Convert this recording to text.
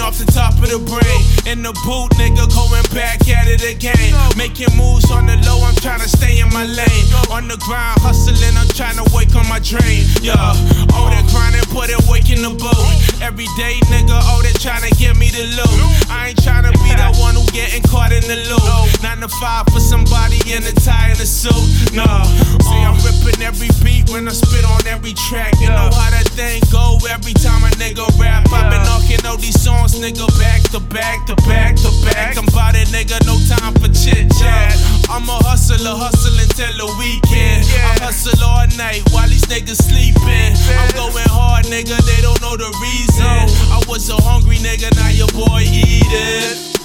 off the top of the brain. In the boot, nigga, going back at it again. Making moves on the low, I'm tryna stay in my lane. On the grind, hustling, I'm tryna wake on my drain. Yeah, all that grinding, put it work in the boat. Every day, nigga, all that tryna get me the loot. I ain't tryna be that one who getting caught in the loop. 9 to 5 for somebody in a tie and a suit. Nah, see, I'm ripping every beat when I spit on every track. You know how that thing go every time a nigga rap. I've been knocking all these songs, nigga, back to back to back to back. I'm bout it, nigga, no time for chit chat. I'm a hustler, hustling till the weekend. I hustle all night while these niggas sleeping. I'm going hard, nigga, they don't know the reason. I was so hungry, nigga, now your boy eating.